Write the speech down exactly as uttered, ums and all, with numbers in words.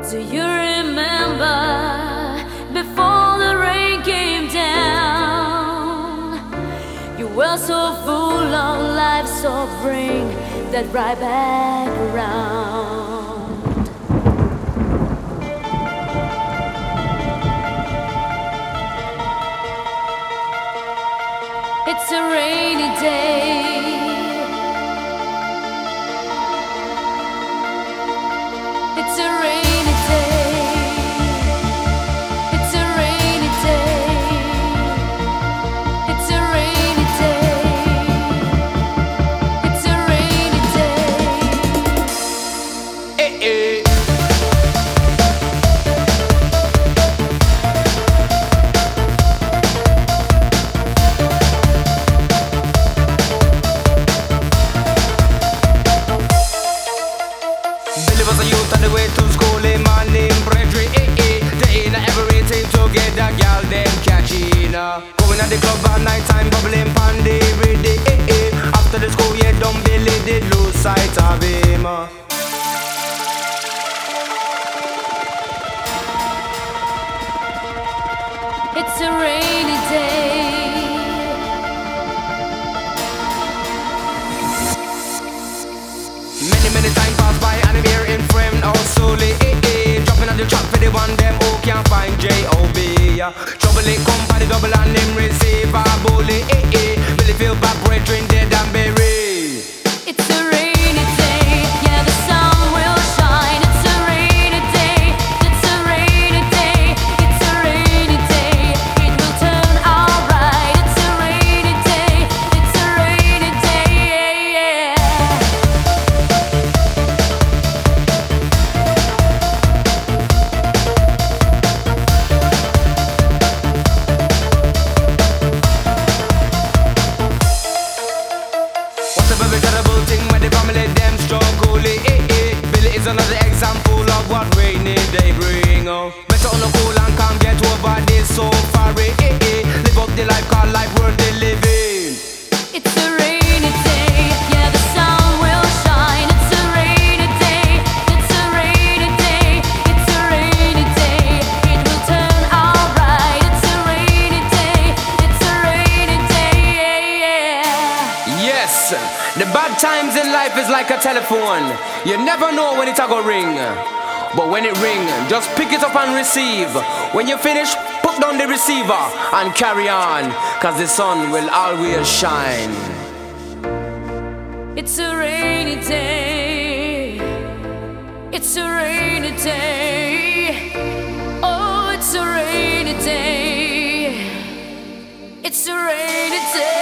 Do you remember before the rain came down? You were so full of life, so bring that right back around. It's a rainy day. It's a rainy day. It's a rainy day. It's a rainy day. It's a rainy day. Eh, eh. Billy was a youth on the way to school, eh, my name Bredry, eh, eh. They ain't everything to get that gal, them catching, uh. Going at the club at night time, bubbling pandy, ready, eh, eh. After the school, yeah, dumb Billy did lose sight of him, uh. It's a rainy day. Many, many times pass by and I'm here in frame, oh slowly, eh, eh. Dropping on the track for the one them who can't find J O B, yeah. Trouble it come by the double and him receive a bully, eh, eh. Billy feel back, brethren dead and buried. It's a rainy day. Yeah, the sun will shine. It's a rainy day. It's a rainy day. It's a rainy day. It will turn alright. It's a rainy day. It's a rainy day. Yeah, What's a very terrible thing when the family them struggle, eh, eh. Billy is another example of what rainy day bring, oh. Better on the cool and can't get over this so far, eh, eh. Live up the life, call life worth the living. it's a rainy day. Yeah, the sun will shine. It's a rainy day. It's a rainy day. It's a rainy day. It will turn alright. It's a rainy day. It's a rainy day. Yeah. Yes, the bad times in life is like a telephone. You never know when it's a go ring. But when it ring, just pick it up and receive. When you finish, put down the receiver and carry on, cause the sun will always shine. It's a rainy day. It's a rainy day. Oh, it's a rainy day. It's a rainy day.